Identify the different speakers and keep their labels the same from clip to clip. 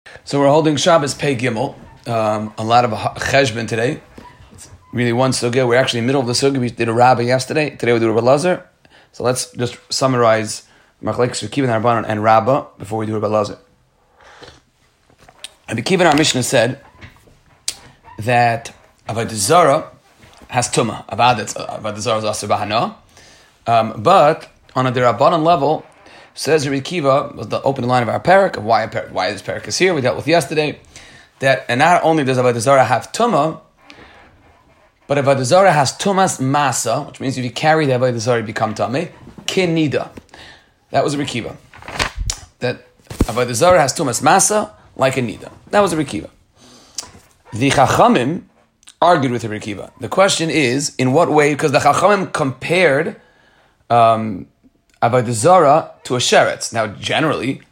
Speaker 1: So we're holding Shabbos Pei Gimel. A lot of cheshbon today. It's really one sugya. We're actually in the middle of the sugya. We did a Rabbi yesterday. Today we do a Rabbi Lazar. So let's just summarize Machlekes Rabbi Kiva and Rabbanan and Rabbah before we do Rabbi Lazar. Rabbi Kiva in our Mishnah said that Avodah Zarah has tumah. Avodah Zarah is asur b'hana. But on a Rabbanan level, says Rabbi Kiva, was the opening line of our parak, of why this parak is here, we dealt with yesterday, and not only does Avodah Zarah have tumah, but Avodah Zarah has tumas masa, which means if you carry the Avodah Zarah, you become tameh, kinida. That was Rabbi Kiva. That Avodah Zarah has tumas masa, like a nida. That was Rabbi Kiva. The Chachamim argued with Rabbi Kiva. The question is, in what way, because the Chachamim compared Avodah Zarah to a sheretz. Now, generally,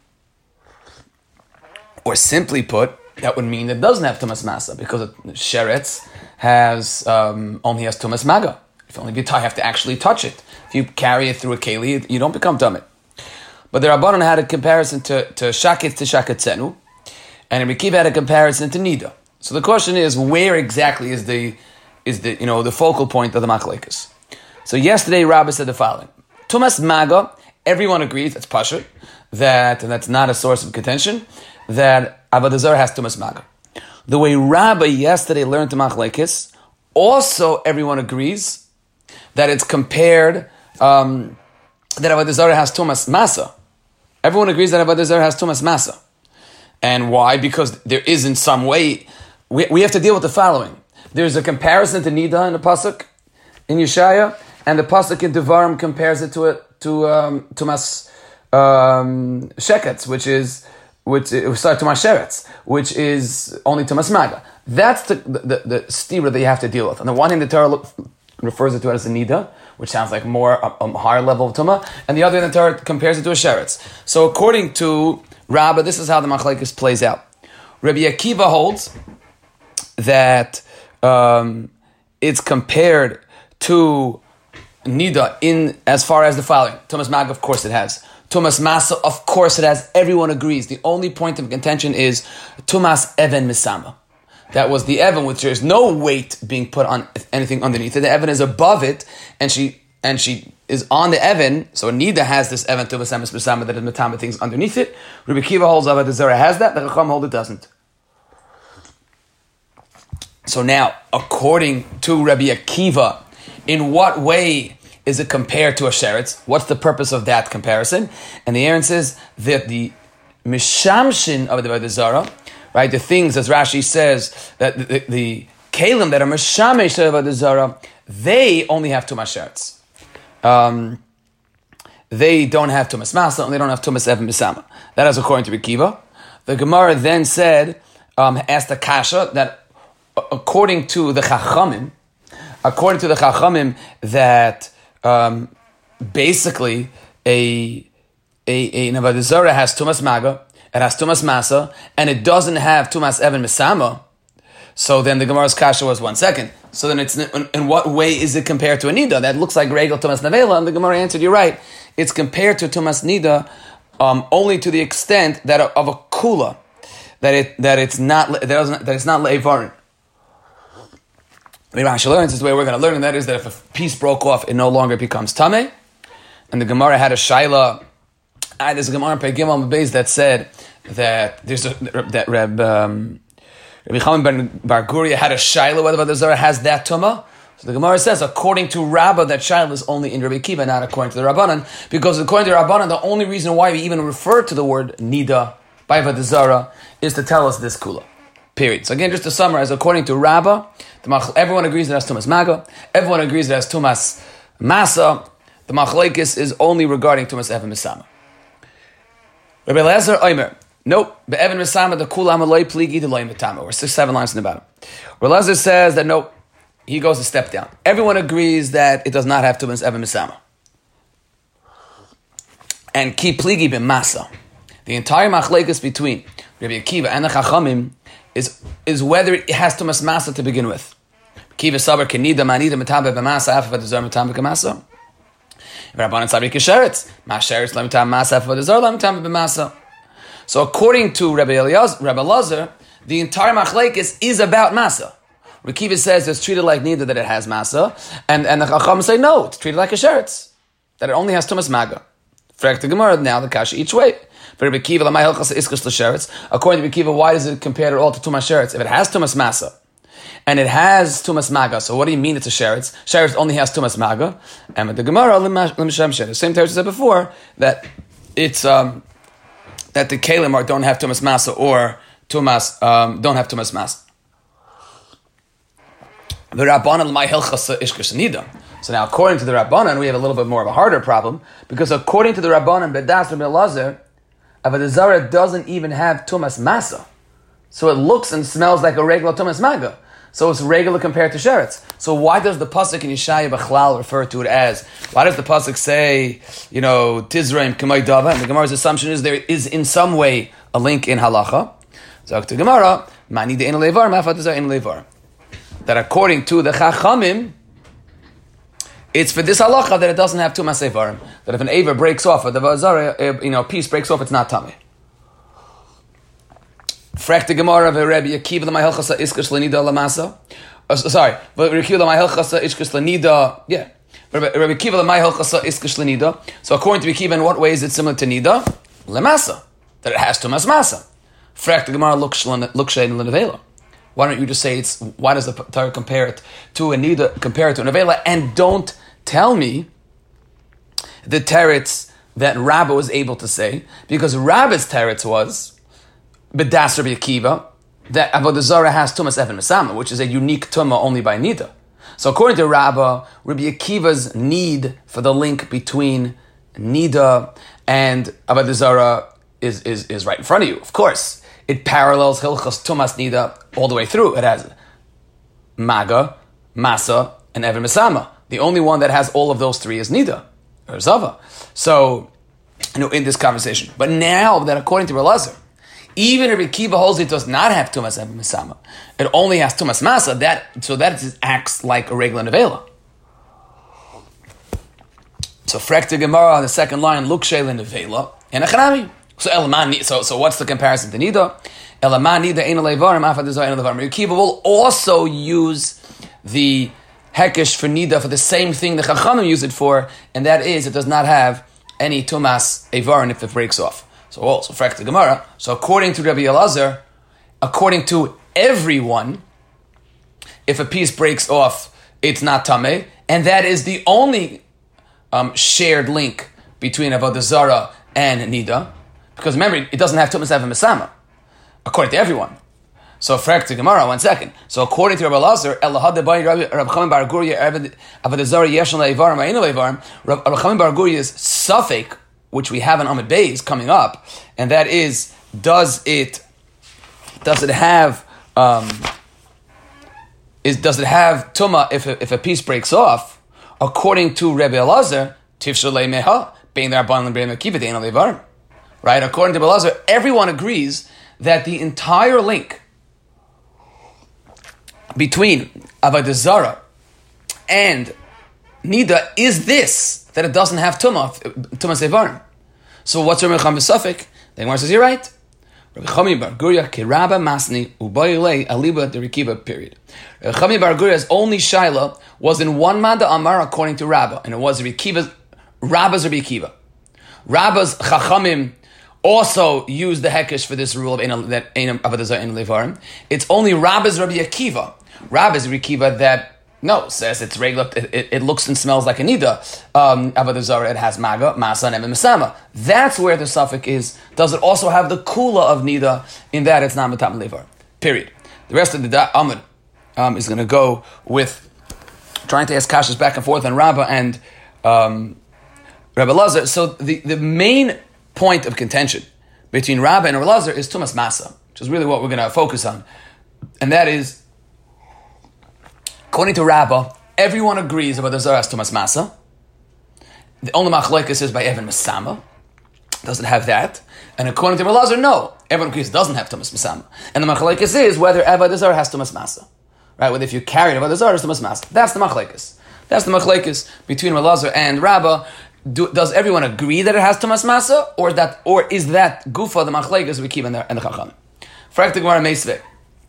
Speaker 1: or simply put, that would mean that it doesn't have tumas masa, because a sheretz only has tumas maga. If only you have to actually touch it. If you carry it through a keli, you don't become tameh. But the Rabbanan had a comparison to shaketz to shaketzenu, and Rabbi Kiva had a comparison to nida. So the question is, where exactly is the focal point of the machlekes? So yesterday, Rabbi said the following: Tumas maga, everyone agrees, that's pashut, and that's not a source of contention, that Avodah Zarah has tumas maga. The way Rabbi yesterday learned the machlekes, also everyone agrees that it's compared, that Avodah Zarah has tumas masa. Everyone agrees that Avodah Zarah has tumas masa. And why? Because there is in some way, we have to deal with the following. There's a comparison to Nida in the Pasuk, in Yeshaya, and the Pasuk in Devarim compares it to Tumas Sheketz, which is Tumas Sheretz, which is only Tumas Maga. That's the stira that you have to deal with. On the one hand, the Torah refers it to it as a Nida, which sounds like more a higher level of Tumah, and the other hand, the Torah compares it to a Sheretz. So according to Rabbah, this is how the Machlekes plays out. Rabbi Akiva holds that it's compared to Nida in as far as the following. Tumas Mag, of course it has. Tumas Masa, of course it has. Everyone agrees. The only point of contention is Tumas Even Misama. That was the Even, which there's no weight being put on anything underneath it. The Even is above it, and she is on the Even, so Nida has this Even Tumas Emes Misama that is Matama things underneath it. Rabbi Kiva holds Avodah Zarah has that, the Chacham holds it doesn't. So now, according to Rabbi Akiva, in what way is it compared to a sheretz? What's the purpose of that comparison? And the answer is that the mishamshin of the Avodah Zarah, right, the things, as Rashi says, that the kalim that are mishamesh of Avodah Zarah, they only have tumas sheretz. They don't have tumas masa, and they don't have tumas even misama. That is according to Rabbi Akiva. The Gemara then said, asked the kasha that according to the Chachamim, that basically an Avodah Zarah has tumas maga, it has tumas masa, and it doesn't have tumas even misama. So then the Gemara's kasha was 1 second. So then it's in what way is it compared to a nida? That looks like regel tumas nevela, and the Gemara answered, you're right. It's compared to tumas nida only to the extent that of a kula, that it's not leivarin. Rashi learns is the way we're going to learn, and that is that if a piece broke off, it no longer becomes tameh. And the Gemara had a shaila. There's a Gemara in Pei Gimel Beis that said that Rabbi Chaim ben Bar Guria had a shaila whether the Zarah has that tumah. So the Gemara says, according to Rabbah, that shaila is only in Rabbi Kiva, not according to the Rabbanan, because according to the Rabbanan, the only reason why we even refer to the word nida by Avodah Zarah is to tell us this kula. Period. So again, just to summarize, according to Rabbah, everyone agrees that it has tumas maga. Everyone agrees that it has tumas masa. The machlekes is only regarding tumas even misama. Rabbi Elazar Omer, nope. Be'even misama the kulam aloi pligi the loy mitama. We're 6-7 lines in the bottom. Rabbi Elazar says that nope. He goes a step down. Everyone agrees that it does not have tumas even misama. And ki pligi b'masa. The entire machlekes between Rabbi Akiva and the Chachamim is whether it has tumas masa to begin with. Kiva saber kenida manida metabe b'masa after the zar metabe b'masa. Rabbanan sabri kisheretz, ma sheretz lam metabe masa after the zar lam metabe b'masa. So according to Rabbi Elazar, the entire machlekes is about masa. Rabbi Kiva says it's treated like neither that it has masa, and the Chacham say no, it's treated like a sheretz, that it only has tumas maga. Frek the Gemara, now the kasha each way. According to Rabbi Kiva, why does it compare it all to tumas sheretz? If it has tumas masa, and it has tumas maga, so what do you mean it's a sheretz? Sheretz only has tumas maga, and with the Gemara, the same time I said before, that it's that the kalim don't have tumas masa or tumas don't have tumas masa. The Rabbanan my hilchasa ishkesh nida. So now, according to the Rabbanan, we have a little bit more of a harder problem, because according to the Rabbanan, Bedas Rabbi Elazar, Avodah Zarah doesn't even have tumas masa, so it looks and smells like a regular tumas maga. So it's regular compared to sheretz. So why does the pasuk in Yeshaya B'chlal refer to it as? Why does the pasuk say, Tizraim K'may Dava? And the Gemara's assumption is there is in some way a link in halacha. So to Gemara, Mani de Ein Levar, Ma'afat Ein Levar. That according to the Chachamim, it's for this halacha that it doesn't have tumas evarim. That if an aver breaks off, or the vazara, piece breaks off, it's not tummy. Frek the Gemara of Rabbi Akiva the Mahelchasa Iskash Lanida Lamasa. Sorry, Rabbi Akiva the Mahelchasa Iskash Lanida. Yeah, Rabbi Akiva the Mahelchasa Iskash Lanida. So according to Akiva, in what way is it similar to Nida? Lamasa, that it has tumas masa. Frek the Gemara Lukshain Lenavela. Why don't you just say it's? Why does the Torah compare it to a nida, compare it to an avela, and don't tell me the teretz that Rabbah was able to say, because Rabbah's teretz was B'das Rabbi Akiva that Avodah Zarah has tumas even mesama, which is a unique tumah only by nida. So according to Rabbah, Rabbi Akiva's need for the link between nida and Avodah Zarah is right in front of you. Of course, it parallels Hilchas Tumas Nida all the way through. It has Maga, Masa, and Even Mesama. The only one that has all of those three is Nida, or Zava. So, in this conversation. But now that according to Elazar, even Rabbi Kiva holds it does not have Tumas Even Mesama. It only has Tumas Masa, that acts like a regular Nevela. So, Frek to Gemara on the second line, Lukshay Nevela, and Achanami. So what's the comparison to Nida? Rabbi Kiva will also use the Hekesh for Nida for the same thing the Chachamim use it for, and that is it does not have any Tumas Evarin if it breaks off. So Frek the Gemara. So according to Rabbi Elazar, according to everyone, if a piece breaks off, it's not Tameh, and that is the only shared link between Avodah Zarah and Nida. Because remember, it doesn't have tumas even mesama, according to everyone. So, Frek to Gemara, 1 second. So, according to Rabbi Elazar, Rabbi Chaim Bar Gurya, Avodah Zarah Yeshon Le'evarim, Ma'inu Le'evarim, Rabbi Chaim Bar Gurya's suffix, which we have in Amud Beis coming up, and that is, does it have tuma if a piece breaks off? According to Rabbi Elazar, Tifshel Le'meha, being there Rabban Le'evarim Akiva De'en Le'evarim. Right? According to Elazar, everyone agrees that the entire link between Avodah Zarah and Nida is this, that it doesn't have tumas evarim. So what's Rabbi Chaim B'Safek? The Gemara says, you're right. Rabbi Chaim Bar Gurya Kiraba Masni Ubayilei Aliba Derikiva, period. Rabbi Chaim Bar Gurya's only shaila was in one Manda Amar according to Rabbah, and it was Rabbah's Rabbi Akiva. Rabbah's Chachamim also use the hekesh for this rule of that Avodah Zarah Ein Levarim. It's only Rabbah's Rabbi Akiva. Rabbah's Rabbi Akiva that says it's regular. It looks and smells like a nida. Avodah Zarah, it has maga, masa, and even mesama. That's where the suffix is. Does it also have the kula of nida? In that it's not matam levar. Period. The rest of the Amud is going to go with trying to ask kashas back and forth on Rabbah and Rabbi Elazar. So the main point of contention between Rabbah and Elazar is tumas masa, which is really what we're going to focus on. And that is, according to Rabbah, everyone agrees about the Zarah has tumas masa. The only machlokes is by Even Mesama. Doesn't have that. And according to Elazar, no. Everyone agrees it doesn't have tumas mesama. And the machlokes is whether Avodah Zarah has tumas masa. Right? Whether if you carry Avodah Zarah has tumas masa. That's the machlokes. That's the machlekes between Elazar and Rabbah. does everyone agree that it has Tumas Masa, or is that Gufa the Machlekes we keep in the Chacham? Frak the Gemara Meisvei.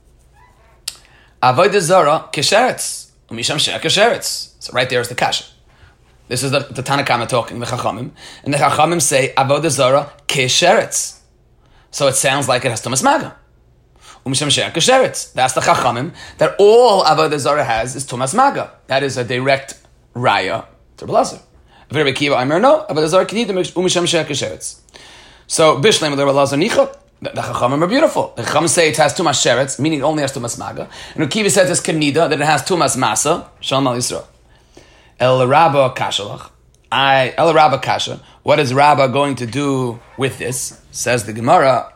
Speaker 1: Avodah Zara Kesheretz Umisham She'er Kesheretz. So right there is the kasha. This is the Tanakama talking, the Chachamim, and the Chachamim say Avodah Zara Kesheretz. So it sounds like it has Tumas Maga. Umisham She'er Kesheretz. That's the Chachamim that all Avodah Zara has is Tumas Maga. That is a direct raya to Belazar. Very Kiva Aimer no, Avodah Zara Kenida Umisham She'er Kesheretz. So Bishlem the Belazar Nicha. The Chachamim are beautiful. The Chachamim say it has Tumas Sheretz, meaning it only has Tumas Maga. And Ukiva says it's Kenida, that it has Tumas Masa. Shalom al Yisrael. El Rabba Kashalach. El Rabba Kasha. What is Rabba going to do with this? Says the Gemara.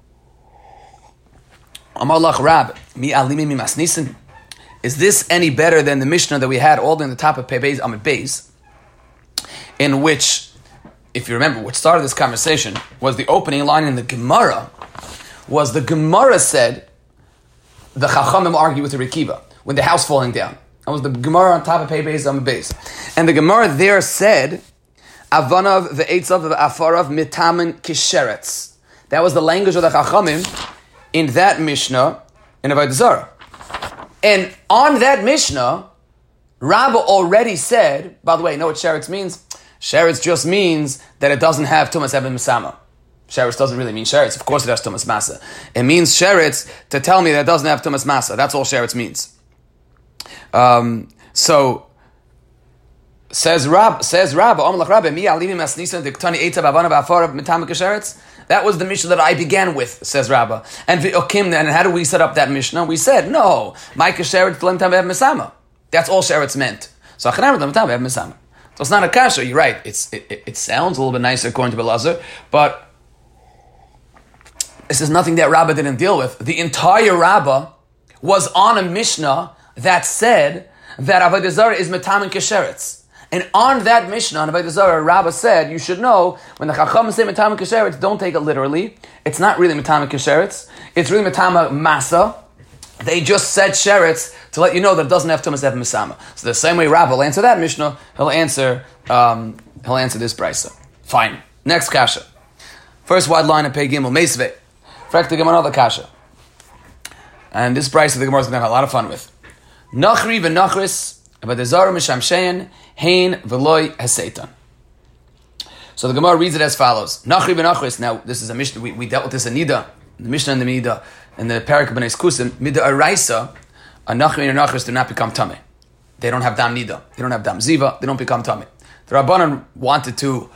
Speaker 1: Amar lach Rab, mi alimi mi masnisin. Is this any better than the Mishnah that we had all in the top of Pei Amid Beis, in which, if you remember, what started this conversation was the opening line in the Gemara. Was the Gemara said the Chachamim argue with the Rekiva when the house falling down. That was the Gemara on top of Pei Beis Amid Beis, and the Gemara there said Avanav ve'etzav ve'afarav mitamen kisheretz. That was the language of the Chachamim in that Mishnah in Avodah Zarah. And on that Mishnah, Rabbah already said, by the way, you know what sheretz means? Sheretz just means that it doesn't have Tumas Eben Misama. Sheretz doesn't really mean sheretz. Of course it has Tumas Masa. It means sheretz to tell me that it doesn't have Tumas Masa. That's all sheretz means. So says Rabbah, Omelach Rabbah, Mi Alimi Masnisan Diktani Eitav Avana Ba'afarav Mitamik Sheretz. That was the Mishnah that I began with, says Rabbah. And how do we set up that Mishnah? We said, no, Micah Sheretz Tlem Tam Ev Misama. That's all sheretz meant. So it's not a kasha. You're right. It sounds a little bit nicer according to Belazar, but this is nothing that Rabbah didn't deal with. The entire Rabbah was on a Mishnah that said that Avodah Zarah is metamen kesheretz. And on that Mishnah, on Avodah Zarah, Rabbah said, you should know, when the Chacham say metamen kesheretz, don't take it literally. It's not really metamen kesheretz. It's really metamen masa. They just said sheretz to let you know that it doesn't have Tumas Ev Misama. So the same way Rabbah will answer that Mishnah, he'll answer this brisa. Fine. Next kasha. First wide line of Pei Gimel Meisvei. Frak the Gemara the kasha. And this brisa the Gemara is going to have a lot of fun with. Nachri v'nachris Avodah Zarah mishamshein hein v'loi haseitan. So the Gemara reads it as follows. Nachri v'nachris. Now this is a Mishnah. We dealt with this in Nida, the Mishnah and the Nida. In the Parak of Bnei Skusim, Mida Araisa, a Nachri and a Nachris do not become Tameh. They don't have Dam Nida. They don't have Dam Ziva. They don't become Tameh. The Rabbanan wanted to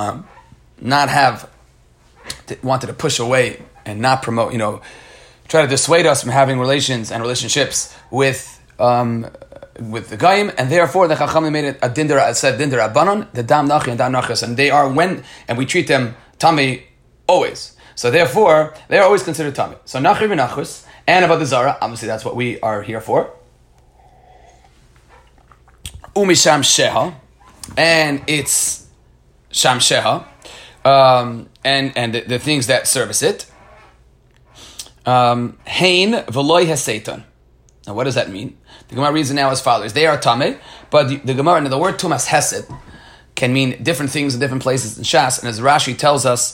Speaker 1: wanted to push away and not promote, try to dissuade us from having relations and relationships with the Goyim, and therefore the Chachamim made it a Dindar, said Dindar Rabbanan, the Dam Nachri and Dam Nachris, and they are and we treat them Tameh always. So therefore, they are always considered Tameh. So Nachri v'Nachris and Avodah Zarah, obviously that's what we are here for. Umisham Sheha, and it's Sham Sheha, and the things that service it. Hein v'loi haseitan. Now what does that mean? The Gemara reads it now as follows. They are Tameh, but the Gemara, and the word Tumas Hesed can mean different things in different places in Shas, and as Rashi tells us,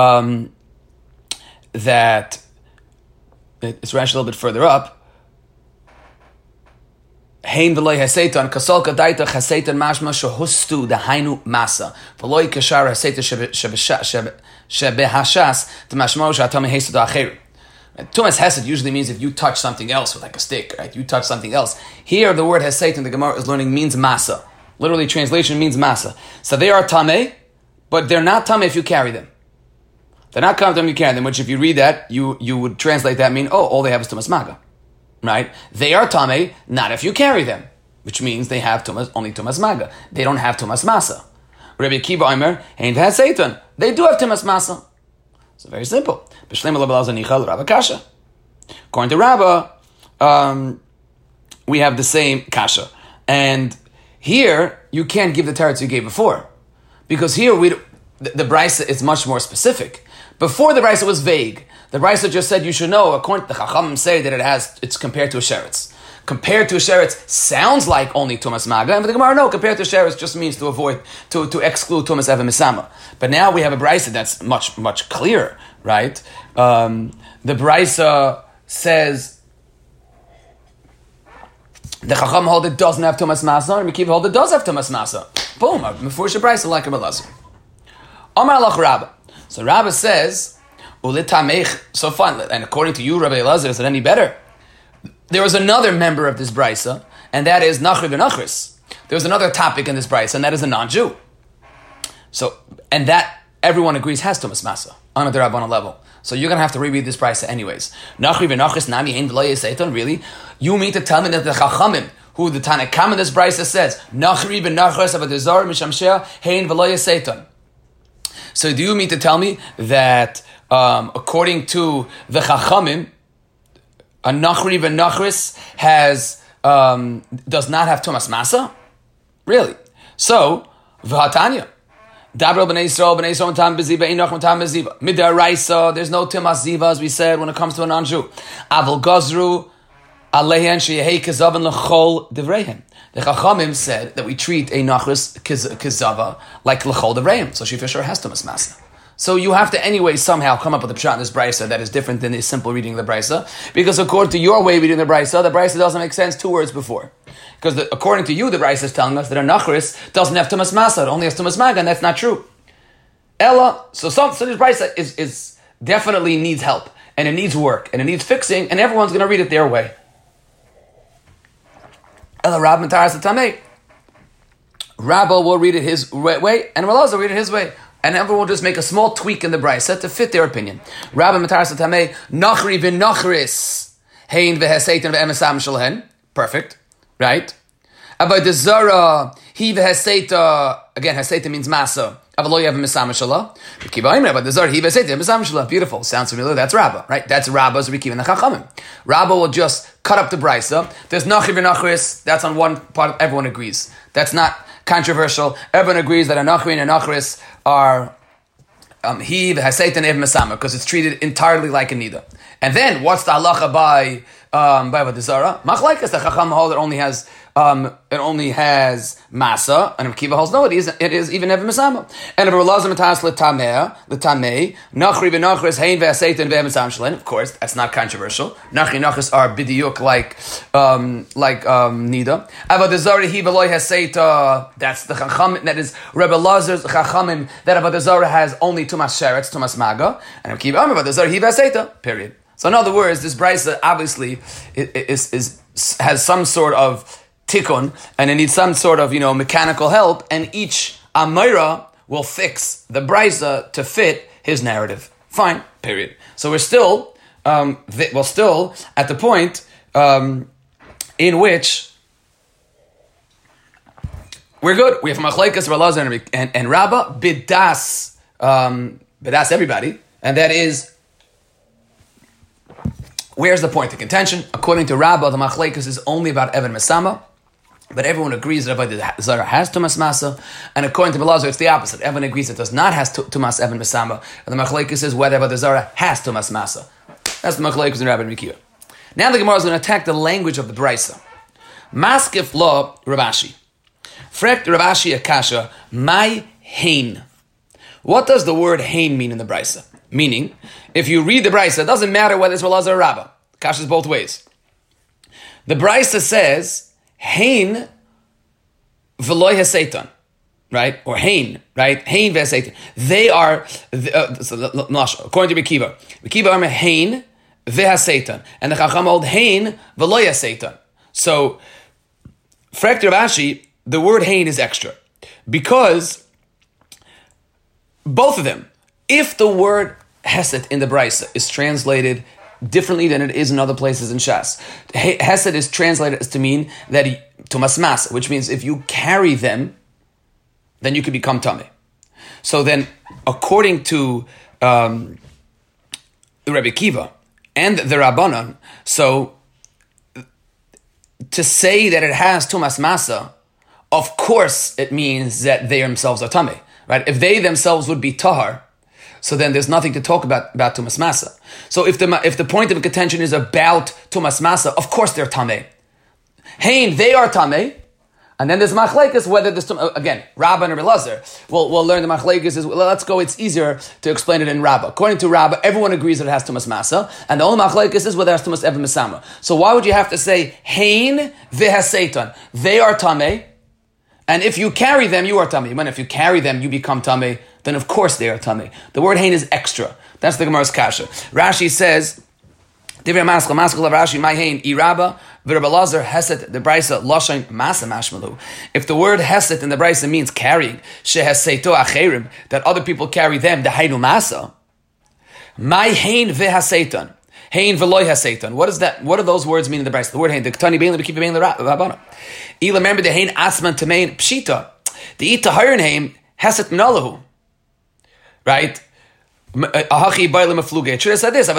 Speaker 1: that it's Rashi a little bit further up. Hein v'loi haseitan kasol kadaita haseitan mashma shehustu dahainu masa v'loi kashar haseitan shebehashas t'mashmo she'atamei hesed acheru. Tumas Hesed usually means if you touch something else with like a stick, right? You touch something else. Here the word Heseitan the Gemara is learning means masa. Literally translation means masa. So they are tamei, but they're not tamei if you carry them. They're not tamei if you carry them, which if you read that, you would translate that mean, all they have is Tumas Maga. Right? They are tamei, not if you carry them, which means they have only Tumas Maga. They don't have Tumas Masa. Rabbi Akiva Omer, Hein Heseitan. They do have Tumas Masa. So very simple. According to Rabbah, we have the same kasha. And here, you can't give the teretz you gave before. Because here, the brisa is much more specific. Before the brisa was vague. The brisa just said you should know, according to the Chachamim say that it's compared to a sheretz. compared to a sheretz sounds like only tumas maga, and for the Gemara, no, compared to sheretz just means to avoid, to exclude tumas even misama. But now we have a brisa that's much, much clearer, right? The brisa says the Chacham hold it doesn't have tumas masa, and Mekiva hold it does have tumas masa. Boom, Mefurish brisa like a Elazar. Amar Alach Rabba. So Rabba says, so fine, and according to you, Rabbi Elazar, is it any better? There was another member of this brisa, and that is Nachri v'Nachris. There was another topic in this brisa, and that is a non-Jew. So, and that everyone agrees has tumas masa on a derabbanan level. So you're going to have to reread this brisa anyways. Nachri v'Nachris nami hein v'lo yiseiton. Really? You mean to tell me that the Chachamim, who the Tanakam in this brisa says, Nachri v'Nachris avadizar mishamsheh hein v'lo yiseiton. So do you mean to tell me that according to the Chachamim, a Nachri v'Nachris does not have tumas masa? Really? So, v'hatanya. Dabra b'nei Yisrael tam beziva, einach tam beziva. Midaraisa, there's no tumas ziva, as we said, when it comes to a non-Jew. Avol gazru, alehen sheyehei kezavan l'chol divreihem. The Chachamim said that we treat a Nachris kezava like l'chol divreihem. So she for sure has tumas masa. So you have to anyway somehow come up with a pshat in this brisa that is different than the simple reading of the brisa, because according to your way of reading the brisa doesn't make sense 2 words before. Because according to you, the brisa is telling us that a nachris doesn't have tumas masa, it only has tumas maga, and that's not true. Ella, so this brisa is definitely needs help, and it needs work, and it needs fixing, and everyone's going to read it their way. Ella Rab Mataras Tamei. Rabba will read it his way, and Elazar will read it his way. And everyone will just make a small tweak in the brisa to fit their opinion. Rabbi Mataras Tamei, Nachri v'Nachris, Hein v'Heseitan v'Emesam Shalhen. Perfect, right? Avodah Zara, He v'Heseita, again, Heseita means masa. Avalo Yev Mesam Shallah. Avodah Zara, He v'Heseita Mesam Shallah. Beautiful, sounds familiar. That's Rabba, right? That's Rabba's Rikiv and the Chachamim. Rabba will just cut up the brisa. There's Nachri v'Nachris, that's on one part, everyone agrees. That's not controversial. Everyone agrees that a Nachri and a Nachris are he v'Haseitan ev mesama, because it's treated entirely like a nida. And then what's the halacha by Avodah Zara? Machlaikas, the Chacham hold it only has masa, and Kiva holds no, it is even ev mesama. And if Elazar matas l'tamei nachri v'nachris hein v'Haseitan v'emesam shlen, of course that's not controversial. Nachri nachris are bidiyuk like nida. Avodah Zara he v'loy Haseita, that's the Chacham, that is Rebbe Lazar's Chachamim, that Avodah Zara has only tumas sheretz, tumas maga, and Kiva Avodah Zara he v'Haseita, period. So in other words, this brisa obviously has some sort of tikkun, and it needs some sort of mechanical help, and each amira will fix the brisa to fit his narrative. Fine, period. So we're still at the point in which we're good. We have machlekes Elazar and Rabba bidas everybody, and that is, where's the point of contention? According to Rabba, the machlekes is only about Evan Mesama, but everyone agrees that Avodah Zara has tumas masa, and according to Elazar, it's the opposite. Everyone agrees it does not has tumas Evan Mesama, and the machlekes is whether Avodah Zara has tumas masa. That's the machlekes in Rabbi and Mekiva. Now the Gemara is going to attack the language of the brisa. Maskif lo Ravashi. Frekt Ravashi akasha my hein. What does the word hein mean in the brisa? Meaning, if you read the brisa, it doesn't matter whether it's Elazar or Rabba. Kasha is both ways. The brisa says hein v'loy haseitan, right? Or hein, right? Hein v'haseitan. They are according to Mekiva. Mekiva are hein v'haseitan, and the Chacham hold hein v'loy haseitan. So, Frekt Ravashi, the word hein is extra because both of them, if the word Hesed in the Brisa is translated differently than it is in other places in Shas, Hesed is translated as to mean that tumas masa, which means if you carry them, then you can become tameh. So then, according to the Rebbe Kiva and the Rabbanan, so to say that it has tumas masa, of course it means that they themselves are tameh, right? If they themselves would be tahar, so then there's nothing to talk about tumas masa. So if the point of contention is about tumas masa, of course they're tameh. Hein, they are tamei. And then there's machlekes whether this again Rabbah and Rabbi Lazar. We'll learn the machlekes is let's go. It's easier to explain it in Rabbah. According to Rabbah, everyone agrees that it has tumas masa, and the only machlekes is whether it has tumas evan misama. So why would you have to say hein vehaseitan? They are tamei, and if you carry them, you are tamei. When if you carry them, you become tamei. Then of course they are tamei. The word hein is extra. That's the Gemara's kasha. Rashi says. Divrei Maskal of Rashi, my hein, iraba, v'Rabbi Lazar, heset, the brisa, loshain, masa mashmalu. If the word heset in the brisa means carrying, sheheseito acherim, that other people carry them, the hainu masa, my hein v'haseitan, hein v'loy haseitan. What is that? What do those words mean in the brisa? The word hein, the ktani bein, the kiva bein, the rabana. Ila, remember the hein asman tamein pshita. The ita hirin hein, heset minalahu. Right? It should have said this. The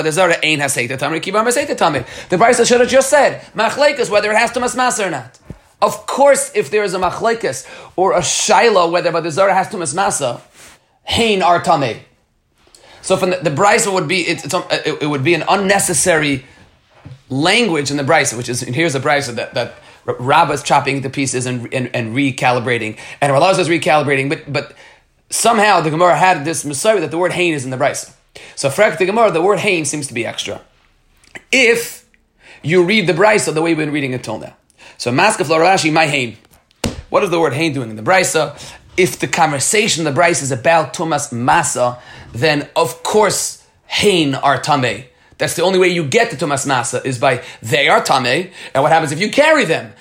Speaker 1: Brisa should have just said machlekes whether it has tumas masa or not. Of course, if there is a machlekes or a shaila whether the zara has tumas masa, hein are tamei. So from the Brisa would be it would be an unnecessary language in the Brisa, which is here's a Brisa that Rabbah is chopping into pieces and recalibrating, and Rabbi is recalibrating, but somehow the Gemara had this Messiah that the word hein is in the Brisa. So for the Gemara, the word hein seems to be extra. If you read the Brisa the way we've been reading it till now. So Maskef Rashi, my hein. What is the word hein doing in the Brisa? If the conversation in the Brisa is about Tumas Masa, then of course hein are Tameh. That's the only way you get to Tumas Masa is by they are Tameh. And what happens if you carry them?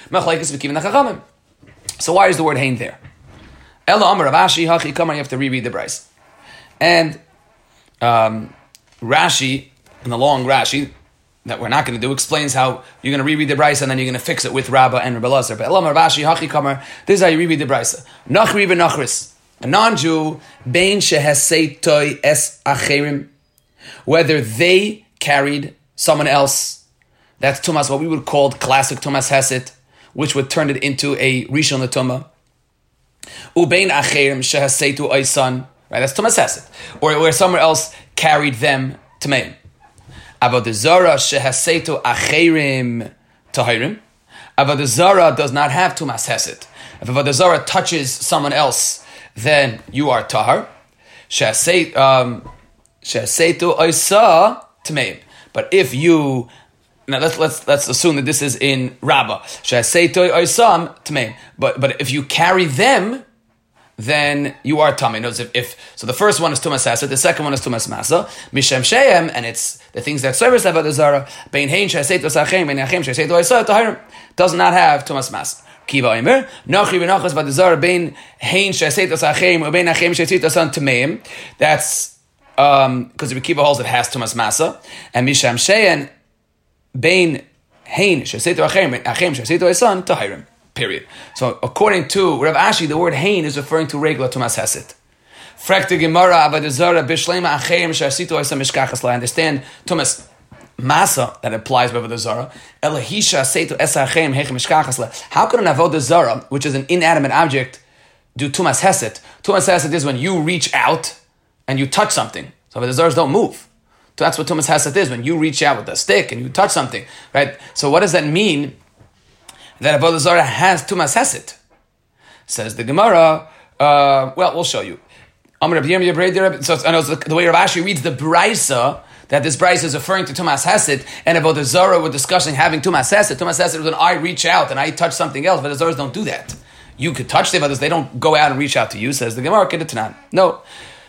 Speaker 1: So why is the word hein there? Ella Amar Rashi Hachi Kamar, you have to reread the Brisa. And Rashi, in the long Rashi, that we're not going to do, explains how you're going to reread the Brisa and then you're going to fix it with Rabbah and Rabbi Lazar. But Ella Amar Rashi Hachi Kamar, this is how you reread the Brisa. Nachri v'nachris, a non-Jew, bein shehesei toy es acherim, whether they carried someone else, that's Tumas, what we would call classic Tumas Heset, which would turn it into a Rishon L'Tumah. Ubein acherim shehaseitu oisan, right? That's Tumas Heset, or where someone else carried them to Meim. Avodah Zarah shehaseitu acherim tahirim. Avodah Zarah does not have Tumas Heset. If Avodah Zarah touches someone else, then you are tahar. Shehaseitu oisa tmeim. But if you now let's assume that this is in Rabbah. Shehaseitu oisam tmeim. But if you carry them, then you are tamei. Notice so the first one is tumas hasa, the second one is tumas masa. Mishem shehem, and it's the things that service avodah zara. Bein hein shehaseitu sachem, bein achem shehaseitu oisa tahirim, does not have tumas masa. Kiva Omer, Nachri v'nachas v'dazar bein hein shehaseitu sachem, bein achem shehaseitu oisa tameim. That's because Rabbi Kiva holds it has tumas masa, and Mishem shehem bein hein shehaseitu achem shehaseitu oisa tahirim. Period. So according to Rav Ashi, the word hein is referring to regular Tumas Heset. Frekte Gemara Abadazara Bishlema Achem Shasitu Isa Mishkachas. I understand Tumas Masa that applies with Avodah Zarah. Elahisha Seitu Esa Achem Hechem Mishkachas. How could an Avodah Zarah, which is an inanimate object, do Tumas Heset? Tumas Heset is when you reach out and you touch something. So Avodah Zarahs don't move. So that's what Tumas Heset is, when you reach out with a stick and you touch something, right? So what does that mean? That Avodah Zarah has Tumas Heset. Says the Gemara, well, we'll show you. So I know the way Rav Ashi reads the Brisa, that this Brisa is referring to Tumas Heset, and Avodah Zarah we're discussing having Tumas Heset. Tumas Heset is when I reach out and I touch something else, but Avodah Zarahs don't do that. You could touch them, others, they don't go out and reach out to you, says the Gemara, Kedetanan. No.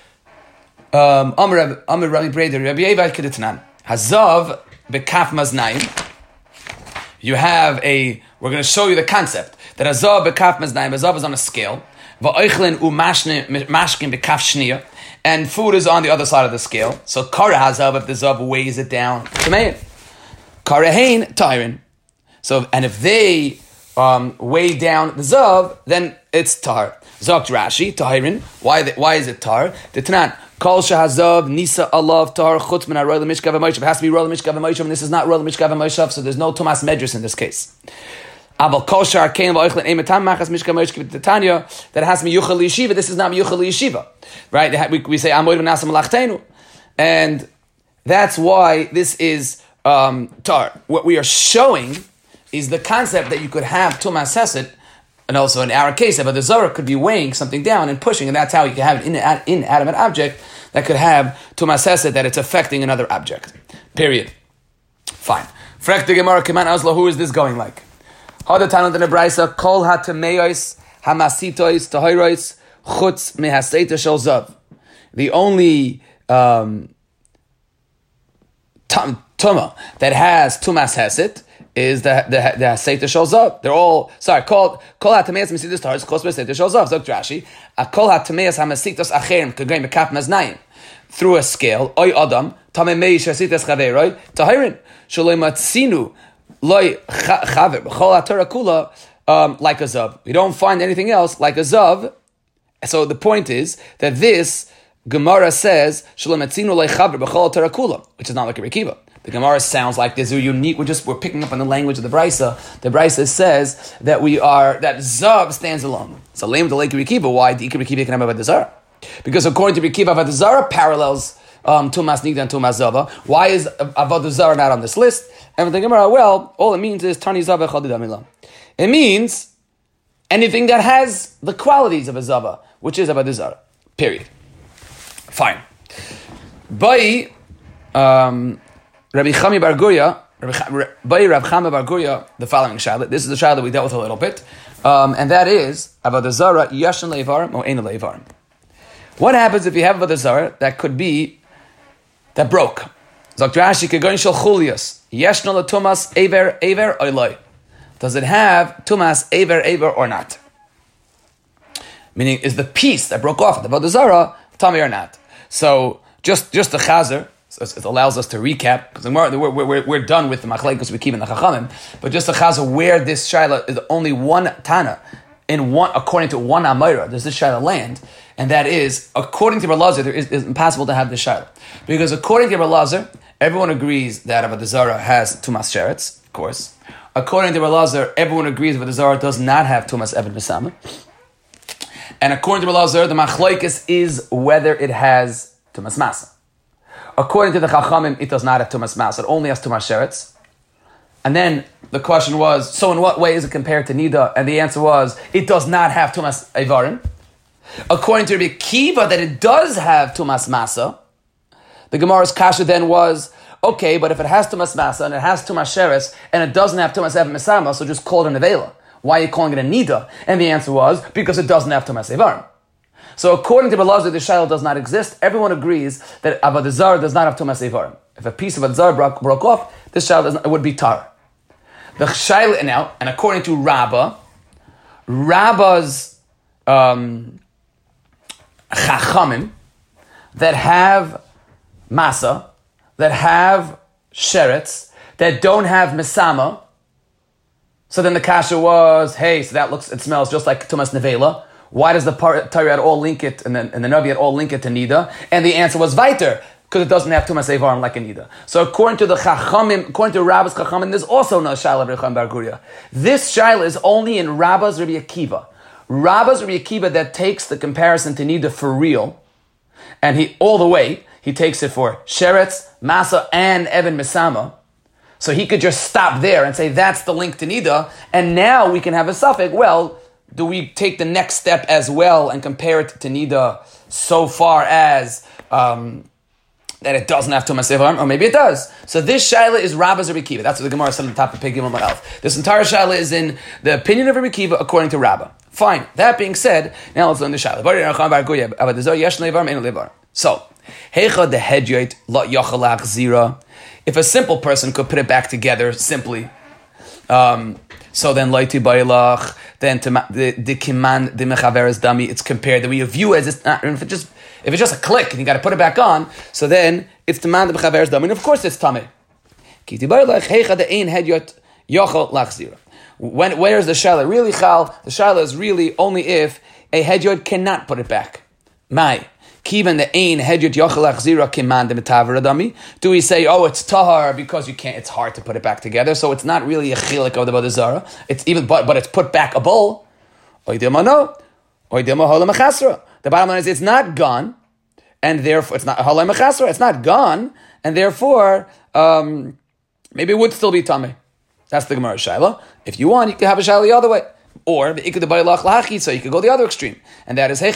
Speaker 1: Amr Rabbi Breder, Rabbi Yevad Kedetanan. Hazav bekaf maznayim. You have we're going to show you the concept that Azav bekaf maznayim, Azav is on a scale, va'oichlin umashkin bekaf shniya, and food is on the other side of the scale. So kara hazav, if the zav weighs it down, tamein. Kara hein tahirin. So and if they weigh down the zav, then it's tar. Zok Rashi tahirin. Why is it tar? The Tanan. Kol shahazav nisa alav tar chutz min haroy lemishkav v'moishav. It has to be roy lemishkav v'moishav, and this is not roy lemishkav v'moishav, so there's no Tumas Medris in this case. Aval kol shar kein v'oichlin emetam machas mishkav v'moishav v'titanya, that has miyuchal yeshiva. This is not miyuchal yeshiva, right? We say amoid v'nasam malachtenu, and that's why this is tar. What we are showing is the concept that you could have Tumas Hesed, and also in our case, Avodah Zarah could be weighing something down and pushing, and that's how you can have an inanimate object that could have Tumas Hesed, that it's affecting another object. Period. Fine. Frek the Gemara Kiman Azla, who is this going like? Hada Tanat in the Braisa, Kol HaTameos Hamasitois Tahirois Chutz Mehaseita Shel Zav. The only Tuma that has Tumas Hesed is the Haseita Shel Zav. They're all, Kol HaTameos Hamasitos Tahirois Chutz Mehaseita Shel Zav. Zok Rashi, Kol HaTameos Hamasitos Acherim Kagayim Bekap Maznayim. Through a scale, Oy Adam, Tamei Meish Hasitas Chaveroi, Tahirin, Shaloi Matzinu, Loi Chaver, B'chol HaTorah Kula, like a Zav. We don't find anything else like a Zav. So the point is that this Gemara says, Shaloi Matzinu Loi Chaver, B'chol HaTorah Kula, which is not like a Rekiva. The Gemara sounds like this. We're unique. We're picking up on the language of the Brisa. The Brisa says that that Zav stands alone. So lame to Lake Rekiva. Why the Ikar Rekiva can have a Zara? Because according to Rekiva, Avodah Zarah parallels Tumas Nigda and Tumas Zava. Why is Avodah Zarah not on this list? And the Gemara, well, all it means is Tani Zava Chadidamila. It means anything that has the qualities of a Zava, which is Avodah Zarah. Period. Fine. By Rabbi Chami Bar Guria, by Rav Chama Bar Guria, the following shayla. This is the shayla we dealt with a little bit, and that is Avodah Zarah Yashan Leivarim or Ein Leivarim. What happens if you have Avodah Zarah that broke? Zok Rashi Kegoin Shel Chulias Yeshna LeTumas Eiver Oiloi. Does it have Tumas Eiver or not? Meaning, is the piece that broke off the Avodah Zarah Tami or not? So just the Chazer. So it allows us to recap, because we're done with the Machlekes we keep in the Chachamim, but just the Chazer where this Shaila is only one Tana, according to one Amayra, does this Shaila land, and that is, according to Elazar, it's impossible to have this Shaila. Because according to Elazar, everyone agrees that Avodah Zarah has Tumas Sheretz, of course. According to Elazar, everyone agrees that Avodah Zarah does not have Tumas Even Mesama. And according to Elazar, the Machlekes is whether it has Tumas Masa. According to the Chachamim, it does not have Tumas Mas. It only has Tumas Sheretz. And then the question was, so in what way is it compared to Nida? And the answer was, it does not have Tumas Eivarim. According to Rabbi Kiva, that it does have Tumas Masa. The Gemara's kasha then was, okay, but if it has Tumas Masa and it has Tumas Sheretz and it doesn't have Tumas Even Mesama, so just call it an Avela. Why are you calling it a Nida? And the answer was, because it doesn't have Tumas Eivarim. So according to Elazar, the Shaila does not exist. Everyone agrees that Avodah Zarah does not have Tumas Eivarim. If a piece of Avodah Zarah broke off, this Shaila would be tar. The Shaila now, and according to Rabba's Chachamim that have Masa, that have Sheretz, that don't have Mesama. So then the kasha was, hey, so it smells just like Tumas Nevela. Why does the Torah all link it, and the Navi all link it to Nida? And the answer was Viter, because it doesn't have Tumas Eivarim like a Nida. So according to the Chachamim, according to Rabba's Chachamim, there's also no Shaila of Recham Bar Guria. This Shaila is only in Rabba's Rabbi Akiva. Rabba's Rabbi Akiva that takes the comparison to Nida for real, and he takes it for Sheretz, Masa, and Even Mesama. So he could just stop there and say that's the link to Nida, and now we can have a suffix. Well, do we take the next step as well and compare it to Nida so far as that it doesn't have Tumas Eivarim, or maybe it does? So this Shaila is Rabba's Rabbi Kiva. That's what the Gemara said on the top of Pei Gimel Amud Aleph. This entire Shaila is in the opinion of Rabbi Kiva according to Rabba. Fine. That being said, now let's learn the Shaila. So, Heicha the Hedyoit Lot Yachalach Zira. If a simple person could put it back together simply, so then Laiti Bailach, then the Kiman the Mechaveres Dami, it's compared that we view as it's not, if it's just a click and you got to put it back on, so then it's the man the Mechaveres Dami, and of course it's Tameh. Kiti Bailach Heicha the Ein Hedyot Yachal Lachzira. Where's the Shaila really Chal? The Shaila is really only if a Hedyot cannot put it back. Mai. Kivan the Ein Hedyot Yachal Lachzira Kiman the Metaver Dami. Do we say, oh, it's Tahar because you can't? It's hard to put it back together, so it's not really a chilik of the Avodah Zarah. It's even, but it's put back a bowl. The bottom line is it's not gone, and therefore it's not halay mechasra. It's not gone, and therefore maybe it would still be tamei. That's the Gemara Shaila. If you want, you can have a Shaila the other way. Or so you could go the other extreme, and that is if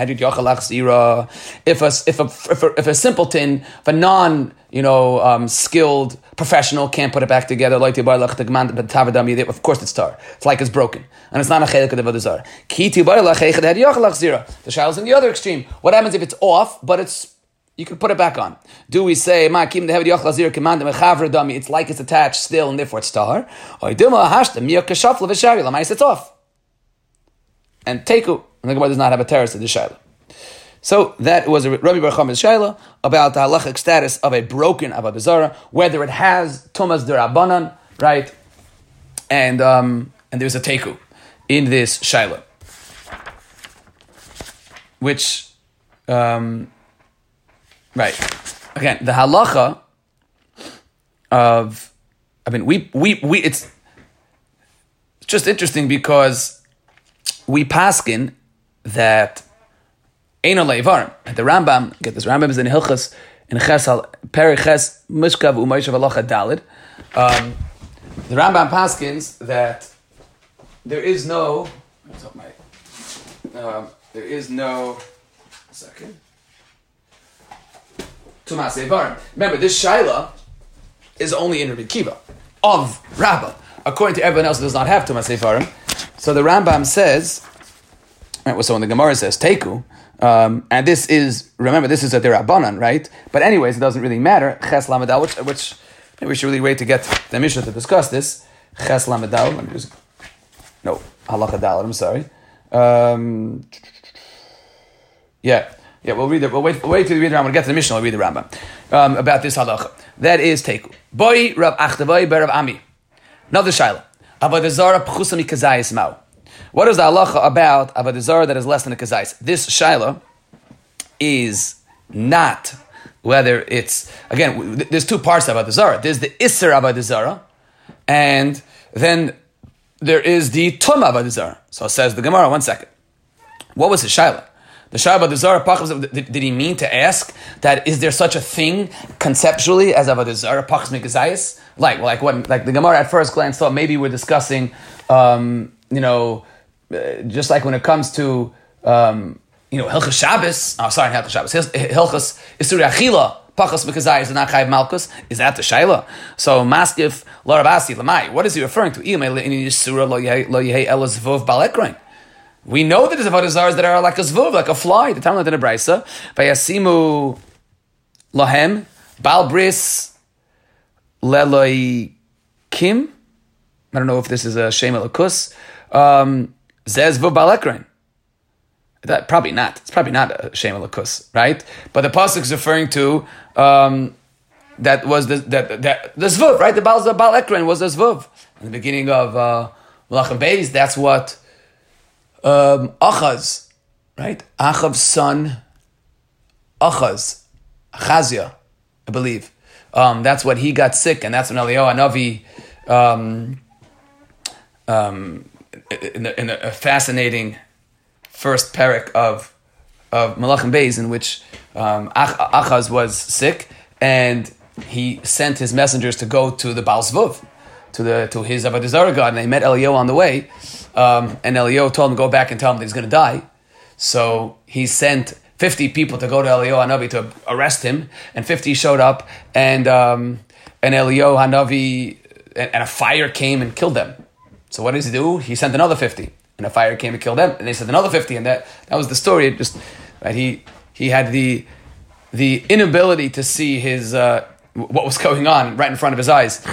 Speaker 1: a simpleton, if a non skilled professional can't put it back together, of course it's tar. It's like it's broken, and it's not a chelik of the vodazar. The shaila is in the other extreme. What happens if it's off, but you can put it back on? Do we say it's like it's attached still, and therefore it's tar? Or it's off. And Teku, and the Gemara does not have a terrace of the Shaila. So that was Rabbi Bar Chama's Shaila about the halachic status of a broken Avodah Zarah, whether it has Tumas D'Rabbanan, right? And there's a Teku in this Shaila. Which, right. Again, the halacha of, it's just interesting because we paskin that Eino Leivarim. The Rambam, get this, Rambam is in Hilchas, in Chesal, Peri Ches, Mishkav, Umayshav Alocha Dalid. The Rambam paskins that there is no, Tumas Eivarim. Remember, this Shaila is only in Rabbi Kiva, of Rabbah. According to everyone else, it does not have Tumas Eivarim. So the Rambam says, right, so when the Gemara says Teku, and this is a Derabanan, right? But anyways, it doesn't really matter. Ches Lamadal, which maybe we should really wait to get the Mishnah to discuss this. Ches Lamadal, Halacha Daled, I'm sorry. We'll read it. We'll wait till we read the Rambam. We'll get to the Mishnah, we'll read the Rambam. About this halacha. That is Teku. Boi Rav Achtavai Ber Rav Ami. Another Shaila. Avodah Zarah pchusa mikazayis mau. What is the halacha about Avodah Zarah that is less than a kazayis? This Shaila is not whether it's, again, there's two parts of Avodah Zarah. There's the Isser Avodah Zarah, and then there is the Tumah Avodah Zarah. So it says the Gemara, one second. What was the Shaila? The Shaila Avodah Zarah, did he mean to ask that is there such a thing conceptually as Avodah Zarah pachas mikazayis? Like the Gemara at first glance thought maybe we're discussing, just like when it comes to, Hilchas Shabbos. Oh, sorry, not Hilchas Shabbos. Hilchas Isuri Achila pachas mikazayis and not Chayiv Malkus. Is that the Shaila? So Maskif Larabasi Lamai. What is he referring to? We know that there's Avodah Zarahs that are like a zvuv, like a fly. The Talmud in a brisa, vayasimu lahem bal bris leloi kim. I don't know if this is a shem elakus. Zez zvuv bal ekrein. That probably not. It's probably not a shem elakus, right? But the pasuk is referring to that was the zvuv, right? The bal ekrein was a zvuv in the beginning of Malachim Beis. That's what. Achaz, right? Achav's son, Achazia, I believe. That's what he got sick, and that's when Eliyahu Hanavi, in a fascinating first parak of Malachim Beis, in which Achaz was sick, and he sent his messengers to go to the Baal Zvuv, to his Avodah Zarah god, and they met Eliyahu on the way. And Eliyahu told him to go back and tell him that he's going to die. So he sent 50 people to go to Eliyahu Hanavi to arrest him, and 50 showed up, and Eliyahu Hanavi, and a fire came and killed them. So what does he do? He sent another 50, and a fire came and killed them, and they sent another 50, and that was the story. It just, right? He had the inability to see his what was going on right in front of his eyes.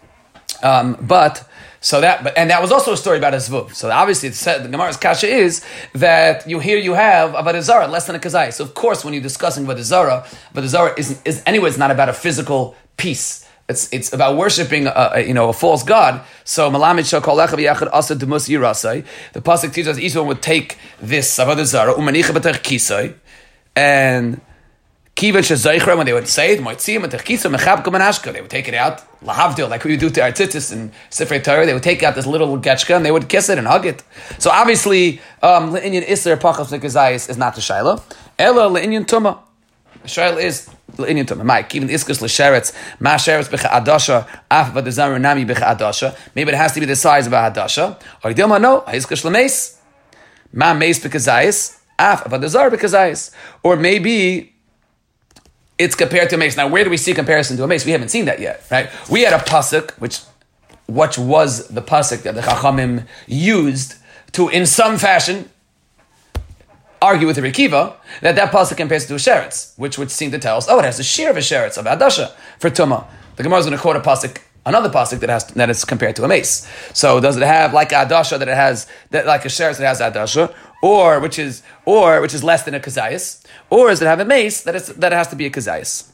Speaker 1: And that was also a story about a zvuv. So obviously, the Gemara's kasha is that you have Avodah Zarah less than a kazai. So of course, when you're discussing Avodah Zarah is anyways not about a physical piece. It's about worshiping a false god. So Malamid Shakol Echad Yachad Asa Demus Yirasai. The pasuk teaches us each one would take this Avodah Zarah Umanicha B'Tech Kisai and Kiva Shazaychra, when they would say it, they would take it out, lahavdil, like we do to our tzitzis and Sifrei Torah, they would take out this little getchka and they would kiss it and hug it. So obviously, Le'inyan Isser Pachas Nekazayis is not the Shaila. Ela Le'inyan Tumah. Shail is l'inyan tumah. Mike, even iskus l'sheretz, ma sheretz b'cha adasha, af v'dezaru nami b'cha adasha. Maybe it has to be the size of a hadasha. Or dilma no, iskus l'meis, ma meis b'kazayis, af v'dezaru b'kazayis. Or maybe it's compared to a mace. Now, where do we see comparison to a mace? We haven't seen that yet, right? We had a pasuk, which was the pasuk that the Chachamim used to, in some fashion, argue with the Rekiva, that pasuk compares to a sheretz, which would seem to tell us, it has a shear of a sheretz, of adasha, for tumah. The Gemara is going to quote a pasuk, another pasuk that is compared to a mace. So does it have like a adasha that it has, like a sheretz that has adasha, or which is less than a kazayas, or does it have a mace that it has to be a kazayas?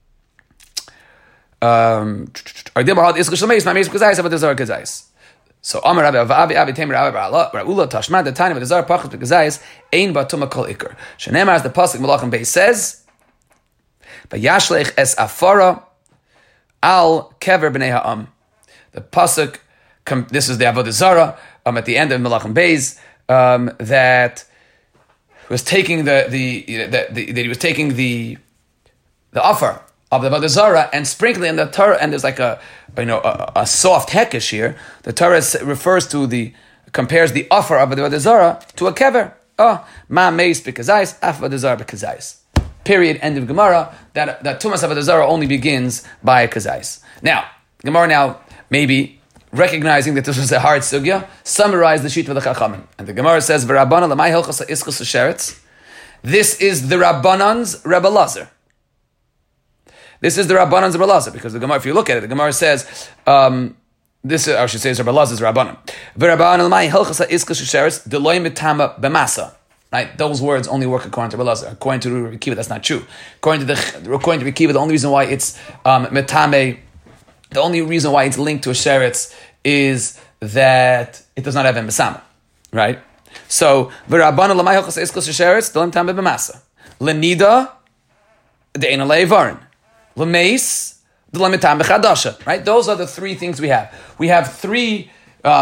Speaker 1: So Amar Rabbi Avi Tamer Rabbi Ula Tashman the time of the Zar Pachas Bekazayis Ein Batuma Kol Iker. Shenemar as the pasuk Malachim Beis says, "Vayashlech es afara al kever b'nei ha'am." The pasuk, this is the Avodah Zarah at the end of Malachim Beis, that was taking that he was taking the offer of the Avodah Zarah and sprinkling in the Torah, and there's like a soft hekesh here. The Torah compares the offer of the Avodah Zarah to a kever. Ma meis b'kazayis, af Avodah Zarah b'kazayis. Period. End of Gemara. That Tumas Avodah Zarah only begins by a kazayis. Now, Gemara maybe recognizing that this was a hard sugya, summarize the sheet of the Chachamim. And the Gemara says, "V'Rabbana l'may hilchos ha'iskus ha'sheretz." This is the Rabbanan's Rebbe Lazar. This is the Rabbanan's Rebbe Lazar, because the Gemara, if you look at it, the Gemara says, this I should say is Rebbe Lazar's Rabbanan. V'Rabbana l'may hilchos ha'iskus ha'sheretz deloy mitama b'masa. Right? Those words only work according to Rebbe Lazar. According to Rekiva, that's not true. According to Rekiva, the only reason why it's mitame, the only reason why it's linked to a sheretz is that it does not have a mesama, right? So v'Rabbana l'may hilchos ha'iskus ha'sheretz deloy mitama b'masa. L'nida de'ena le'evarin. L'meis deloy mitama b'chadasha. Right? Those are the three things we have. We have three,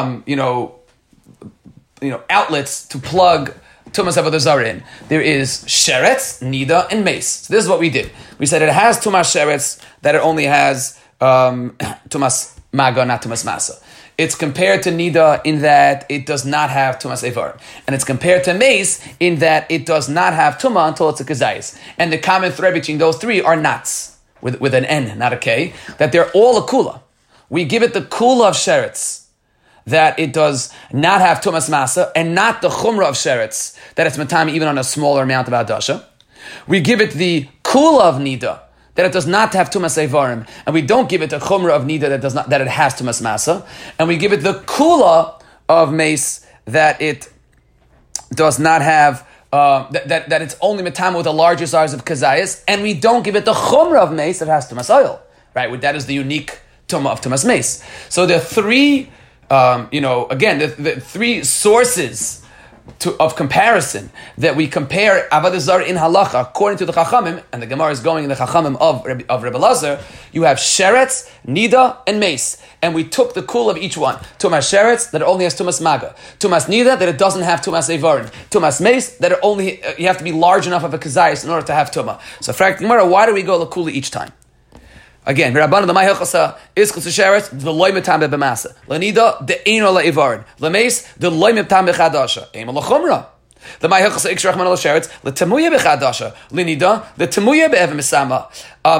Speaker 1: outlets to plug Tumas Avodah Zarah in. There is sheretz, nida, and mace. So this is what we did. We said it has Tumas sheretz, that it only has Tumas maga, not Tumas masa. It's compared to nida in that it does not have Tumas evar. And it's compared to mace in that it does not have Tumah until it's a kazayis. And the common thread between those three are nats, with an N, not a K, that they're all a kula. We give it the kula of sheretz, that it does not have Tumas Masa, and not the Chumrah of Sheretz, that it's Matami even on a smaller amount of Adasha. We give it the Kula of Nida, that it does not have Tumas Eivarim, and we don't give it the Chumrah of Nida that it has Tumas Masa, and we give it the Kula of Mace, that it does not have, that it's only Matami with a larger size of Kazayas, and we don't give it the Chumrah of Mace that has Tumas Oil, right? That is the unique Tumah of Tumas Mace. So there are three the three sources of comparison that we compare Avodah Zarah in halacha according to the Chachamim, and the Gemara is going in the Chachamim of Rebbe Lazar. You have sheretz, nida, and mace, and we took the kul of each one. Tumas sheretz, that it only has tumas maga. Tumas nida, that it doesn't have tumas evarin. Tumas mace, that it only you have to be large enough of a kazayis in order to have tuma. So, frankly, Gemara, why do we go lakula each time? Again, Rabbanan the Mahilchasa Iskus Sheretz the Loy Mitam B'Masa Lanida the Eino LaIvarin Lameis the Loy Mitam B'Chadasha Eim LaChumra the Mahilchasa Ikshach Manal Sheretz the Tamuya B'Chadasha Lanida the Tamuya B'Ev Misama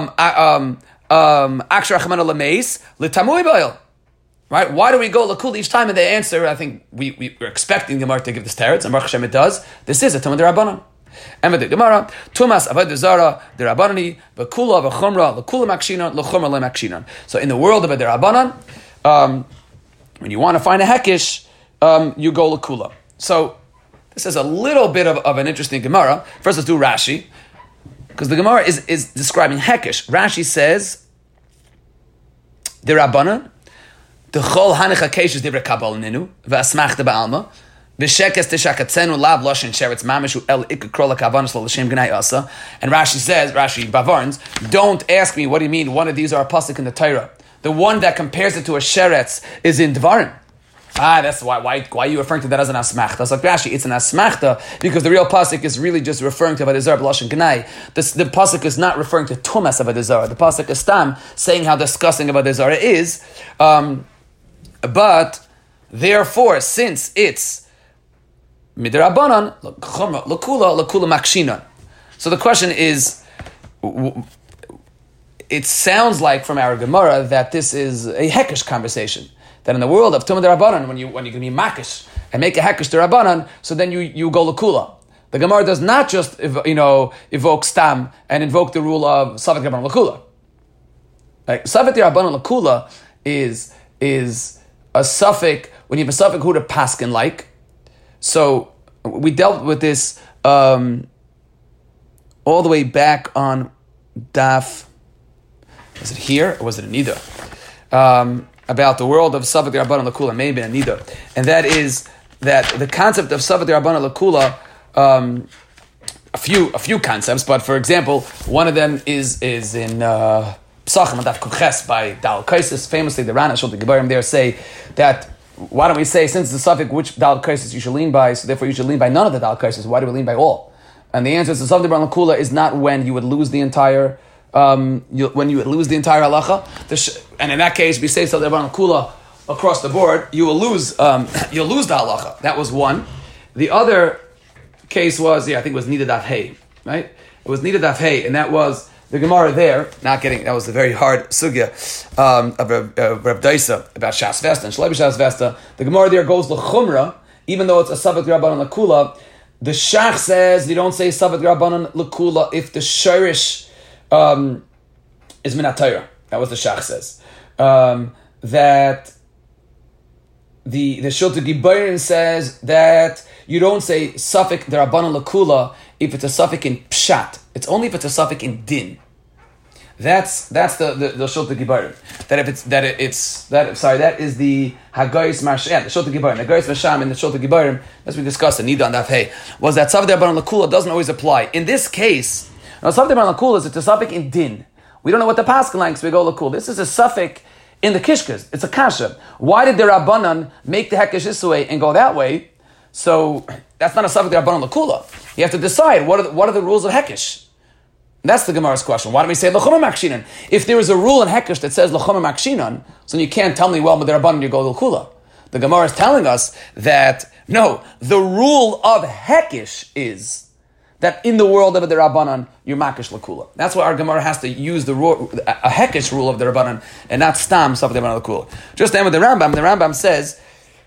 Speaker 1: Akshach Manal Lameis the Tamuya B'Oil. Right? Why do we go lakul each time? And the answer, I think we're expecting the Gemara to give this teretz, and Baruch Hashem it does. This is a Tumah D'Rabbanan. And with the Gemara, Tumas Avodah Zarah D'Rabbanani V'Kula V'Chumra L'Kula Makshinan L'Chumra LeMakshinan. So in the world of a D'Rabbanan, when you want to find a hekish, you go L'Kula. So this is a little bit of an interesting Gemara. First, let's do Rashi, because the Gemara is describing hekish. Rashi says D'Rabbanan the Chol Hanicha Keshes Divrei Kabal Ninu V'Asmachta Ba'alma. And Rashi says, Bavarns, don't ask me what do you mean one of these are a pasuk in the Torah. The one that compares it to a sheretz is in Dvarim. That's why are you referring to that as an asmachta? It's like Rashi, it's an asmachta because the real pasuk is really just referring to Avodah Zarah b'lashon gnai. The pasuk is not referring to tumas Avodah Zarah. The pasuk is stam saying how disgusting Avodah Zarah is. But therefore, since it's midrabanan lakula makshinan, so the question is, it sounds like from our Gemara that this is a hekesh conversation. That in the world of Tumah D'Rabbanan, when you're going to be makish and make a hekesh D'Rabbanan, so then you go lakula. The Gemara does not just evoke stam and invoke the rule of Savik D'Rabbanan lakula. Like Savik D'Rabbanan lakula is a suffix when you have a suffix who to paskin like. So we dealt with this all the way back on Daf. Was it here or was it in either? About the world of Savik D'Rabbanan Lakula, maybe in either. And that is that the concept of Savik D'Rabbanan Lakula, a few concepts, but for example, one of them is in Psachim Daf Kuches by Dal Kaisis. Famously, the Rana Shulti Gebarim there say that, why don't we say, since the suffix which Dal Kaisis you should lean by, so therefore you should lean by none of the Dal Kaisis, why do we lean by all? And the answer is the Savik D'Rabbanan Lakula is not when you would lose the entire when you would lose the entire halacha, and in that case, we say Savik D'Rabbanan Kula across the board, you will lose the halacha. That was one. The other case was, I think it was Nida Daf Hey, right? It was Nida Daf Hey, and that was the Gemara there. That was a very hard sugya of Reb Daisa about Shas Vesta and Shlebi Shas Vesta. The Gemara there goes l'chumra, even though it's a Savik D'Rabbanan Lakula. The Shach says you don't say Savik D'Rabbanan Lakula if the shirish is minat Torah. That was the Shach says. That the Shulti Gibayrin says that you don't say Safik D'Rabbanan Lakula if it's a Safik in Pshat. It's only if it's a Safik in Din. That's the Shulti Gibayrin. That is the Hagayis Marshem, the Shulti Gibayrin. The Hagayis Marshem and the Shulti Gibayrin, as we discussed in Nida and Daf Hey, was that Safik D'Rabbanan Lakula doesn't always apply. In this case, now, Savik D'Rabbanan Lakula is it's a suffix in din. We don't know what the paskin likes, so we go lakul. This is a suffix in the kishkas. It's a kasha. Why did the Rabbanan make the hekesh this way and go that way? So that's not a suffix D'Rabbanan Lakula. You have to decide what are the rules of hekesh. That's the Gemara's question. Why don't we say l'chumah makshinan? If there is a rule in hekesh that says l'chumah makshinan, so you can't tell me, well, with the Rabbanan you go lakula. The Gemara is telling us that no, the rule of hekesh is that in the world of the Rabbanan, you're makish lakula. That's why our Gemara has to use a hekesh rule of the Rabbanan and not stam Savik D'Rabbanan Lakula. Just then with the Rambam says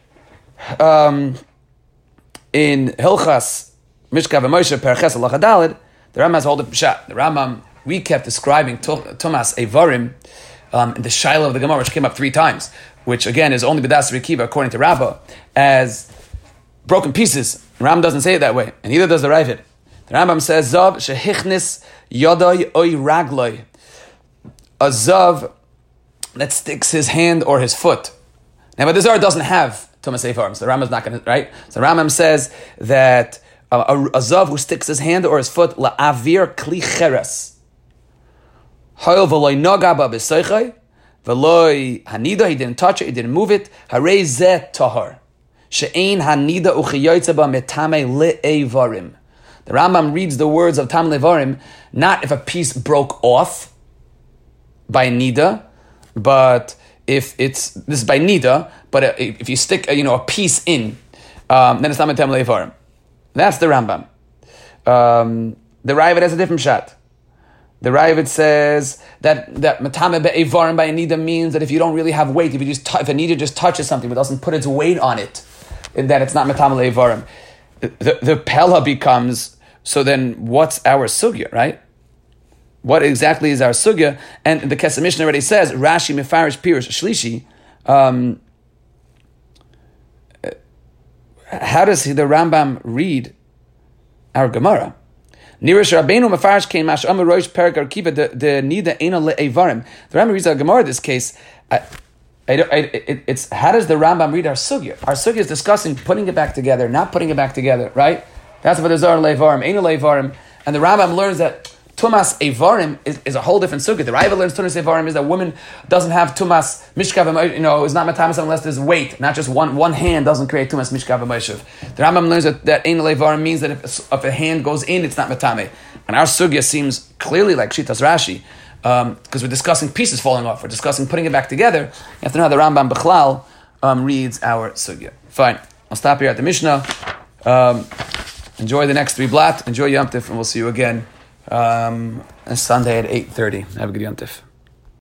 Speaker 1: in Hilchas Mishka v'Moshe Perches Halacha Daled, the Rambam has hold of Pshat. The Rambam, we kept describing Tumas Evarim in the Shaila of the Gemara, which came up 3 times, which again is only B'das Rekiva according to Rabbah, as broken pieces. The Rambam doesn't say it that way, and neither does the Ravid. The Rambam says, Zav shehichnis yodai oi ragloi. A zav that sticks his hand or his foot. Now, but the Zohar doesn't have Tumas Evarim, so the Rambam's not going to, right? So the Rambam says that a zav who sticks his hand or his foot, la'avir kli cheres. Hoil v'loi noga ba b'soichai, v'loi hanida, he didn't touch it, he didn't move it, harei zeh tahar. She'ein hanida uchiyoytze ba metame le'evarim. The Rambam reads the words of Tam Levarim, not if a piece broke off by Nida, but if this is by Nida, but if you stick a piece in, then it's not Tam Levarim. That's the Rambam. The Ravid has a different shot. The Ravid says that Matame Be'evarim by Nida means that if you don't really have weight, if a Nida just touches something but doesn't put its weight on it, then it's not Matame Le'evarim. The Pella becomes, so then what's our sugya, right? What exactly is our sugya? And the Kesef Mishnah already says, Rashi Mefarish Pirush Shlishi. How does the Rambam read our Gemara? Nirish Rabbeinu Mefarish came Mash Amar Rosh Perak Arkiva the Nida Eina Le'evarim. The Rambam reads our Gemara in this case. It's how does the Rambam read our sugya? Our sugya is discussing putting it back together, not putting it back together, right? That's what the Zohar Levarim, Eina Levarim, and the Rambam learns that Tumas Evarim is a whole different sugya. The Raiva learns Tumas Evarim is that a woman doesn't have Tumas Mishkav, is not Matamis unless there's weight, not just one hand doesn't create Tumas Mishkav Moshev. The Rambam learns that Ein Evarim means that if a hand goes in, it's not Matame. And our sugya seems clearly like Shitas Rashi, because we're discussing pieces falling off, we're discussing putting it back together. You have to know how the Rambam Bechlal reads our sugya. Fine, I'll stop here at the Mishnah. Enjoy the next 3 blat, enjoy Yom Tif, and we'll see you again Sunday at 8:30. Have a good Yom Tif.